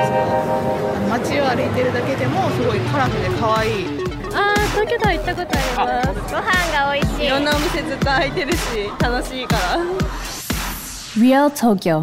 街を歩いてるだけでもすごいカラフルで可愛い。 東京タワー行ったことあります。 ご飯が美味しい。 いろんなお店ずっと開いてるし楽しいから。 Real Tokyo.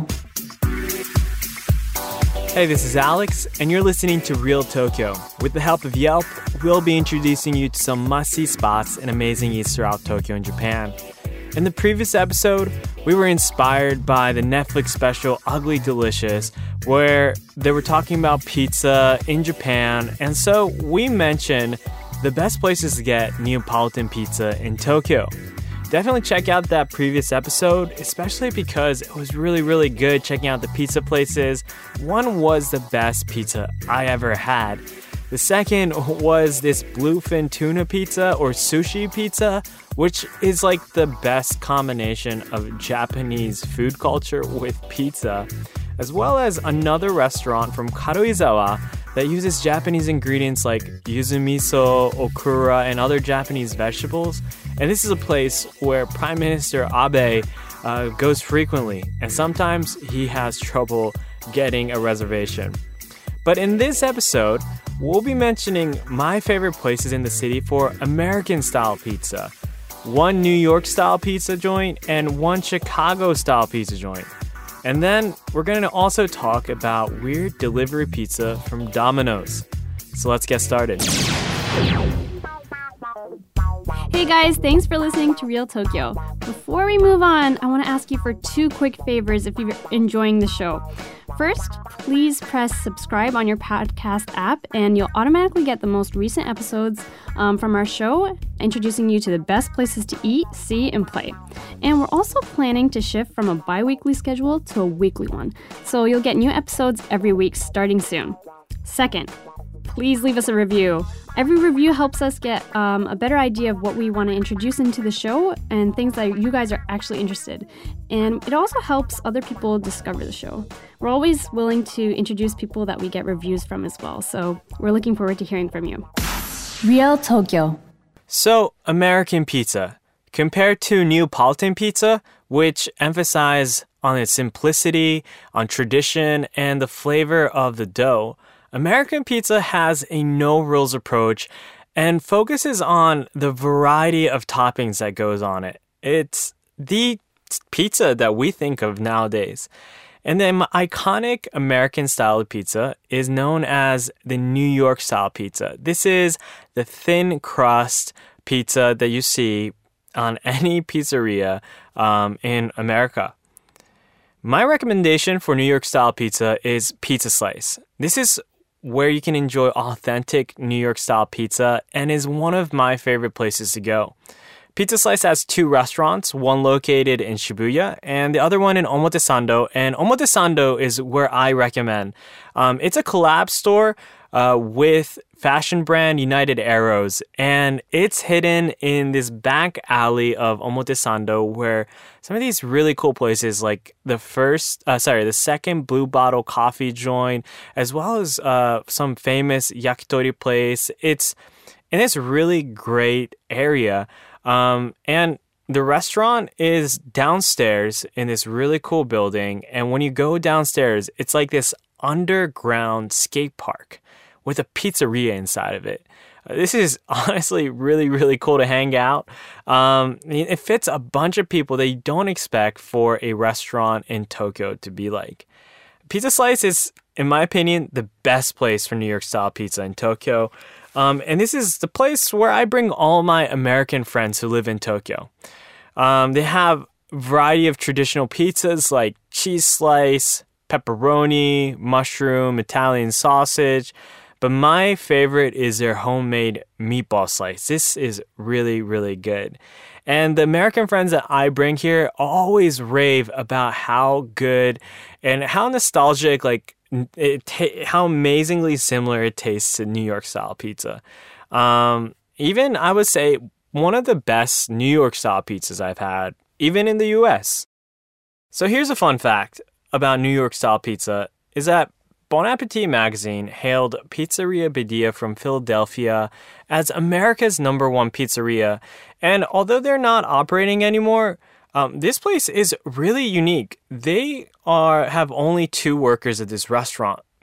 Hey, this is Alex, and you're listening to Real Tokyo. With the help of Yelp, we'll be introducing you to some must-see spots and amazing eats throughout Tokyo and Japan. In the previous episode, we were inspired by the Netflix special Ugly Delicious, where they were talking about pizza in Japan, and so we mentioned the best places to get Neapolitan pizza in Tokyo. Definitely check out that previous episode, especially because it was really, really good checking out the pizza places. One was the best pizza I ever had. The second was this bluefin tuna pizza or sushi pizza, which is like the best combination of Japanese food culture with pizza, as well as another restaurant from Karuizawa that uses Japanese ingredients like yuzu miso, okura, and other Japanese vegetables. And this is a place where Prime Minister Abe goes frequently, and sometimes he has trouble getting a reservation. But in this episode, we'll be mentioning my favorite places in the city for American-style pizza. One New York-style pizza joint and one Chicago-style pizza joint. And then we're going to also talk about weird delivery pizza from Domino's. So let's get started. Hey guys, thanks for listening to Real Tokyo. Before we move on, I want to ask you for two quick favors if you're enjoying the show. First, please press subscribe on your podcast app and you'll automatically get the most recent episodes from our show, introducing you to the best places to eat, see, and play. And we're also planning to shift from a bi-weekly schedule to a weekly one, so you'll get new episodes every week starting soon. Second, please leave us a review. Every review helps us get a better idea of what we want to introduce into the show and things that you guys are actually interested. And it also helps other people discover the show. We're always willing to introduce people that we get reviews from as well. So we're looking forward to hearing from you. Real Tokyo. So, American pizza. Compared to Neapolitan pizza, which emphasize on its simplicity, on tradition, and the flavor of the dough, American pizza has a no-rules approach and focuses on the variety of toppings that goes on it. It's the pizza that we think of nowadays. And then iconic American-style pizza is known as the New York-style pizza. This is the thin crust pizza that you see on any pizzeria in America. My recommendation for New York-style pizza is Pizza Slice. This is where you can enjoy authentic New York-style pizza and is one of my favorite places to go. Pizza Slice has two restaurants, one located in Shibuya and the other one in Omotesando. And Omotesando is where I recommend. It's a collab store with fashion brand United Arrows, and it's hidden in this back alley of Omotesando where some of these really cool places like the second Blue Bottle coffee joint, as well as some famous yakitori place. It's in this really great area, and the restaurant is downstairs in this really cool building, and when you go downstairs, it's like this underground skate park with a pizzeria inside of it. This is honestly really, really cool to hang out. It fits a bunch of people that you don't expect for a restaurant in Tokyo to be like. Pizza Slice is, in my opinion, the best place for New York-style pizza in Tokyo. And this is the place where I bring all my American friends who live in Tokyo. They have a variety of traditional pizzas like cheese slice, pepperoni, mushroom, Italian sausage. But my favorite is their homemade meatball slice. This is really, really good. And the American friends that I bring here always rave about how good and how nostalgic, how amazingly similar it tastes to New York-style pizza. Even, I would say, one of the best New York-style pizzas I've had, even in the U.S. So here's a fun fact about New York-style pizza, is that Bon Appetit magazine hailed Pizzeria Badia from Philadelphia as America's #1 pizzeria. And although they're not operating anymore, this place is really unique. They have only 2 workers at this restaurant.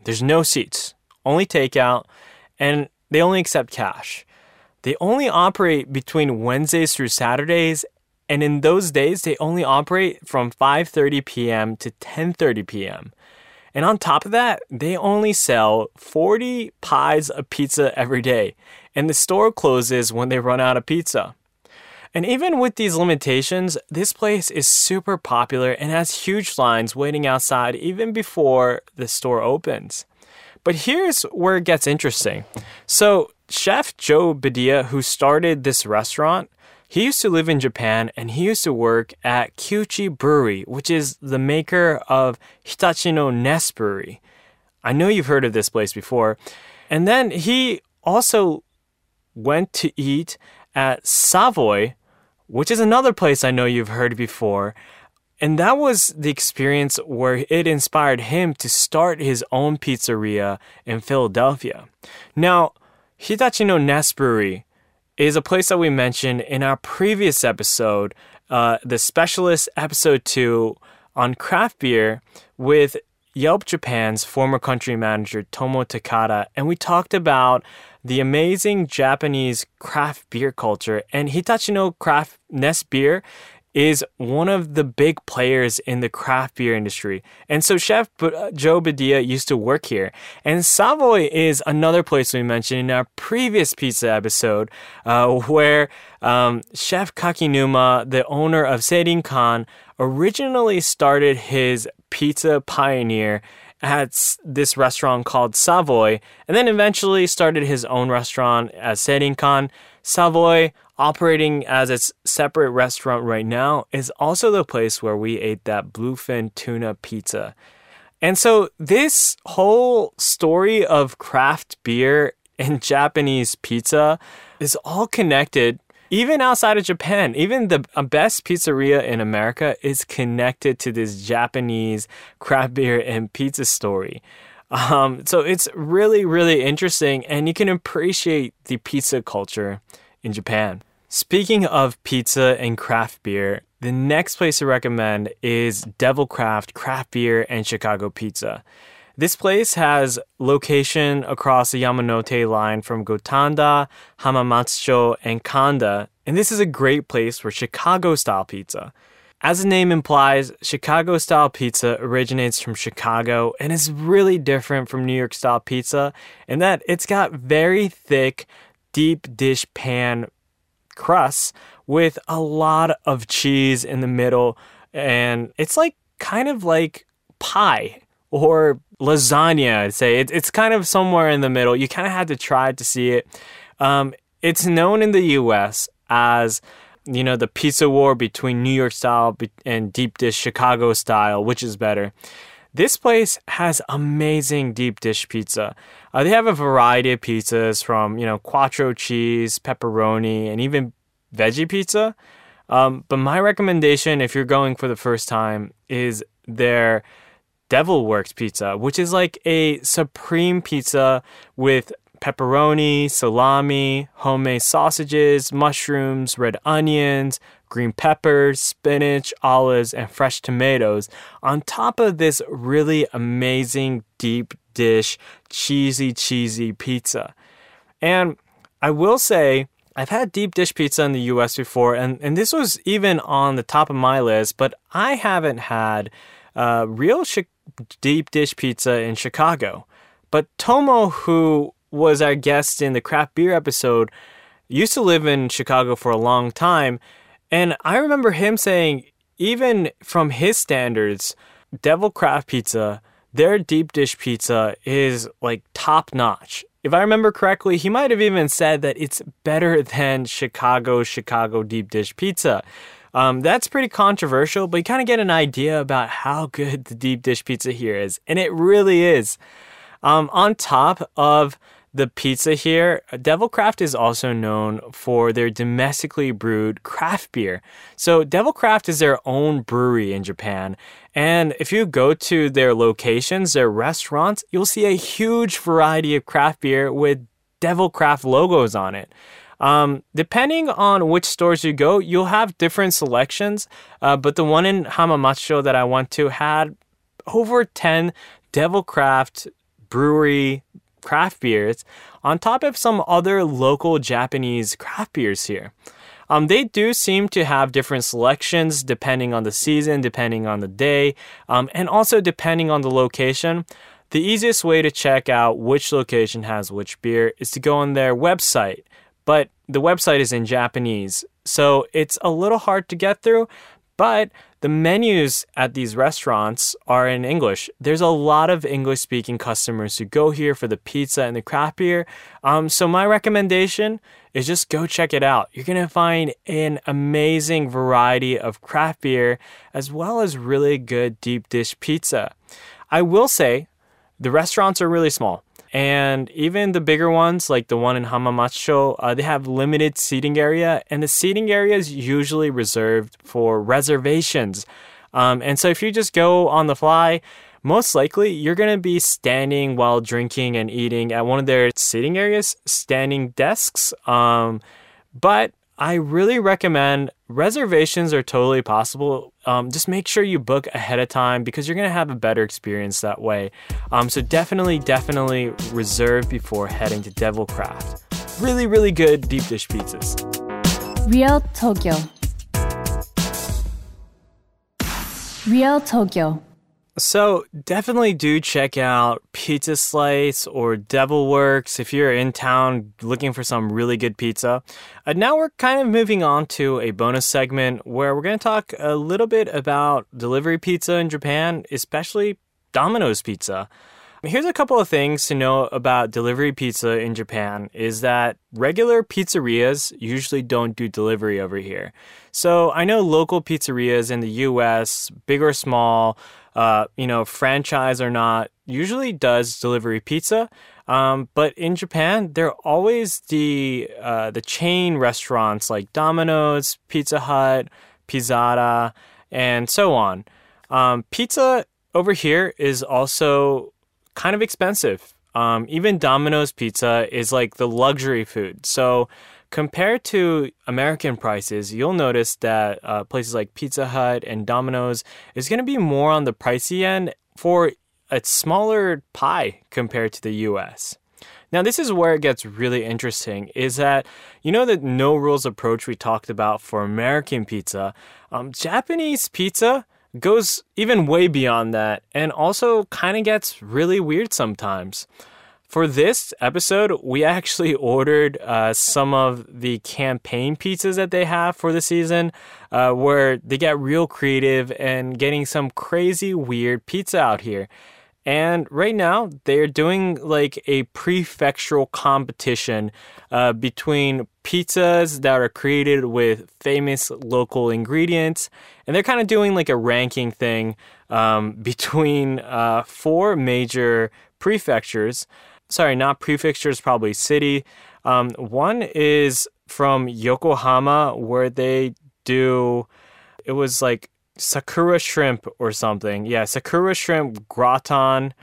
There's no seats, only takeout, and they only accept cash. They only operate between Wednesdays through Saturdays, and in those days, they only operate from 5:30 p.m. to 10:30 p.m. And on top of that, they only sell 40 pies of pizza every day, and the store closes when they run out of pizza. And even with these limitations, this place is super popular and has huge lines waiting outside even before the store opens. But here's where it gets interesting. So, Chef Joe Badia, who started this restaurant, he used to live in Japan and he used to work at Kyuchi Brewery, which is the maker of Hitachi no Ness Brewery. I know you've heard of this place before. And then he also went to eat at Savoy, which is another place I know you've heard before. And that was the experience where it inspired him to start his own pizzeria in Philadelphia. Now, Hitachi no Ness Brewery is a place that we mentioned in our previous episode, the Specialist Episode 2 on craft beer with Yelp Japan's former country manager Tomo Takada, and we talked about the amazing Japanese craft beer culture, and Hitachi no Craft Ness Beer is one of the big players in the craft beer industry. And so Chef Joe Badia used to work here. And Savoy is another place we mentioned in our previous pizza episode where Chef Kakinuma, the owner of Seirinkan, originally started his pizza pioneer at this restaurant called Savoy, and then eventually started his own restaurant at Seirinkan. Savoy, operating as its separate restaurant right now, is also the place where we ate that bluefin tuna pizza. And so this whole story of craft beer and Japanese pizza is all connected. Even outside of Japan, even the best pizzeria in America is connected to this Japanese craft beer and pizza story. So it's really, really interesting, and you can appreciate the pizza culture in Japan. Speaking of pizza and craft beer, the next place to recommend is Devil Craft Craft Beer and Chicago Pizza. This place has location across the Yamanote line from Gotanda, Hamamatsucho, and Kanda, and this is a great place for Chicago-style pizza. As the name implies, Chicago-style pizza originates from Chicago and is really different from New York-style pizza in that it's got very thick, deep dish pan crusts with a lot of cheese in the middle, and it's like kind of like pie or lasagna, I'd say. It's kind of somewhere in the middle. You kind of had to try to see it. It's known in the U.S. as, the pizza war between New York style and deep dish Chicago style, which is better. This place has amazing deep dish pizza. They have a variety of pizzas from, quattro cheese, pepperoni, and even veggie pizza. But my recommendation, if you're going for the first time, is their Devil Works pizza, which is like a supreme pizza with pepperoni, salami, homemade sausages, mushrooms, red onions, green peppers, spinach, olives, and fresh tomatoes on top of this really amazing deep dish, cheesy pizza. And I will say, I've had deep dish pizza in the US before, and this was even on the top of my list, but I haven't had real deep dish pizza in Chicago. But Tomo, who was our guest in the craft beer episode, used to live in Chicago for a long time. And I remember him saying, even from his standards, Devil Craft Pizza, their deep dish pizza is like top notch. If I remember correctly, he might have even said that it's better than Chicago deep dish pizza. That's pretty controversial, but you kind of get an idea about how good the deep dish pizza here is. And it really is. On top of the pizza here, Devil Craft is also known for their domestically brewed craft beer. So Devil Craft is their own brewery in Japan. And if you go to their locations, their restaurants, you'll see a huge variety of craft beer with Devil Craft logos on it. Depending on which stores you go, you'll have different selections. But the one in Hamamatsucho that I went to had over 10 Devil Craft brewery craft beers on top of some other local Japanese craft beers here. They do seem to have different selections depending on the season, depending on the day, and also depending on the location. The easiest way to check out which location has which beer is to go on their website, but the website is in Japanese, so it's a little hard to get through, but the menus at these restaurants are in English. There's a lot of English-speaking customers who go here for the pizza and the craft beer. So my recommendation is just go check it out. You're going to find an amazing variety of craft beer as well as really good deep dish pizza. I will say the restaurants are really small. And even the bigger ones, like the one in Hamamatsu, they have limited seating area, and the seating area is usually reserved for reservations. And so if you just go on the fly, most likely you're going to be standing while drinking and eating at one of their seating areas, standing desks. But I really recommend reservations are totally possible. Just make sure you book ahead of time because you're going to have a better experience that way. So definitely reserve before heading to Devil Craft. Really, really good deep dish pizzas. Real Tokyo. Real Tokyo. So definitely do check out Pizza Slice or Devil Works if you're in town looking for some really good pizza. Now we're kind of moving on to a bonus segment where we're going to talk a little bit about delivery pizza in Japan, especially Domino's Pizza. Here's a couple of things to know about delivery pizza in Japan is that regular pizzerias usually don't do delivery over here. So I know local pizzerias in the US, big or small, franchise or not, usually does delivery pizza. But in Japan, there are always the chain restaurants like Domino's, Pizza Hut, Pizzata, and so on. Pizza over here is also kind of expensive. Even Domino's pizza is like the luxury food. So compared to American prices, you'll notice that places like Pizza Hut and Domino's is going to be more on the pricey end for a smaller pie compared to the US. Now, this is where it gets really interesting, is that, the no rules approach we talked about for American pizza, Japanese pizza goes even way beyond that and also kind of gets really weird sometimes. For this episode, we actually ordered some of the campaign pizzas that they have for the season, where they get real creative and getting some crazy weird pizza out here. And right now, they're doing like a prefectural competition between pizzas that are created with famous local ingredients. And they're kind of doing like a ranking thing between 4 major prefectures. Sorry, not prefectures, probably city. One is from Yokohama, where they do, it was like Sakura shrimp or something. Yeah, Sakura shrimp gratin,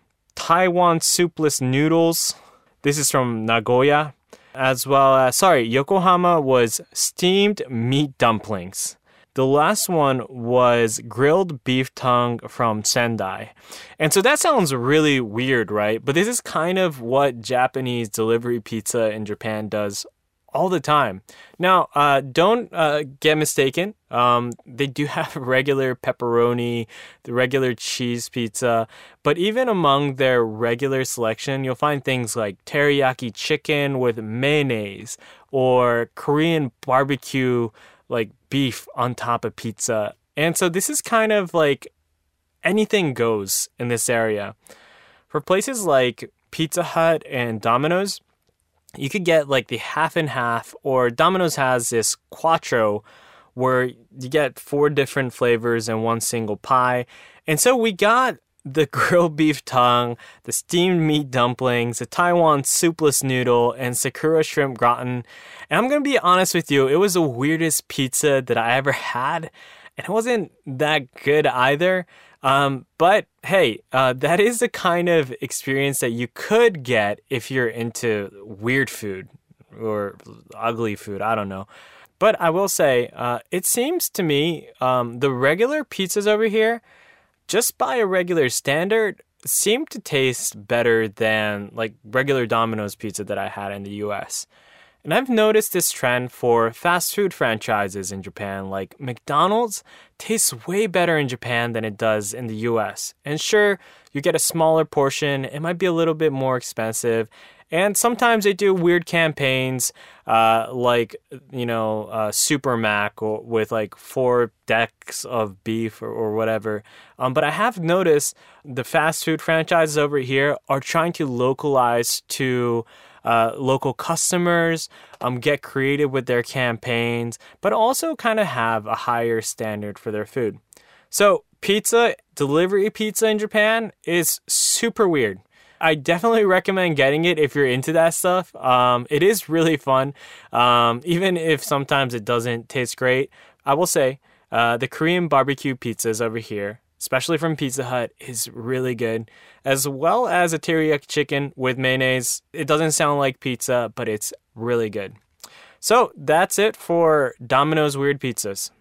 Taiwan soupless noodles. This is from Nagoya. As well as, Yokohama was steamed meat dumplings. The last one was grilled beef tongue from Sendai. And so that sounds really weird, right? But this is kind of what Japanese delivery pizza in Japan does all the time. Now, don't get mistaken. They do have regular pepperoni, the regular cheese pizza. But even among their regular selection, you'll find things like teriyaki chicken with mayonnaise or Korean barbecue like beef on top of pizza. And so this is kind of like anything goes in this area. For places like Pizza Hut and Domino's, you could get like the half and half, or Domino's has this quattro where you get 4 different flavors in one single pie. And so we got the grilled beef tongue, the steamed meat dumplings, the Taiwan soupless noodle, and Sakura shrimp gratin. And I'm going to be honest with you, it was the weirdest pizza that I ever had. And it wasn't that good either. But hey, that is the kind of experience that you could get if you're into weird food or ugly food. I don't know. But I will say, it seems to me, the regular pizzas over here, just by a regular standard, seem to taste better than like regular Domino's pizza that I had in the US. And I've noticed this trend for fast food franchises in Japan, like McDonald's tastes way better in Japan than it does in the US. And sure, you get a smaller portion, it might be a little bit more expensive. And sometimes they do weird campaigns like, Super Mac or with like 4 decks of beef or whatever. But I have noticed the fast food franchises over here are trying to localize to local customers, get creative with their campaigns, but also kind of have a higher standard for their food. So delivery pizza in Japan is super weird. I definitely recommend getting it if you're into that stuff. It is really fun, even if sometimes it doesn't taste great. I will say the Korean barbecue pizzas over here, especially from Pizza Hut, is really good, as well as a teriyaki chicken with mayonnaise. It doesn't sound like pizza, but it's really good. So that's it for Domino's Weird Pizzas.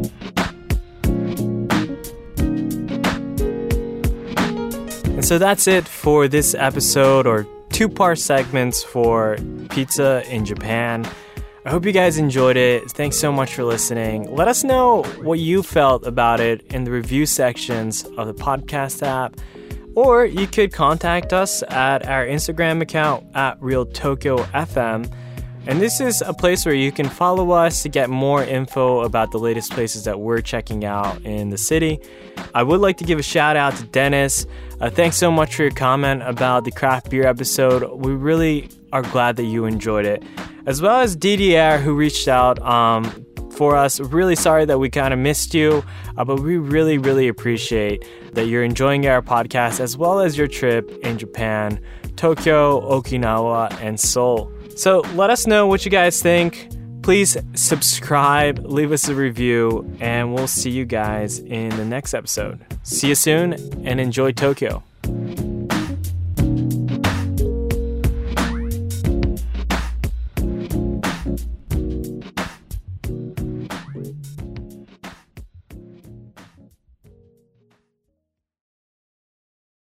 And so that's it for this episode, or 2-part segments for pizza in Japan. I hope you guys enjoyed it. Thanks so much for listening. Let us know what you felt about it in the review sections of the podcast app. Or you could contact us at our Instagram account at RealTokyoFM. And this is a place where you can follow us to get more info about the latest places that we're checking out in the city. I would like to give a shout out to Dennis. Thanks so much for your comment about the craft beer episode. We really are glad that you enjoyed it. As well as DDR, who reached out for us. Really sorry that we kind of missed you, but we really, really appreciate that you're enjoying our podcast as well as your trip in Japan, Tokyo, Okinawa, and Seoul. So let us know what you guys think. Please subscribe, leave us a review, and we'll see you guys in the next episode. See you soon, and enjoy Tokyo.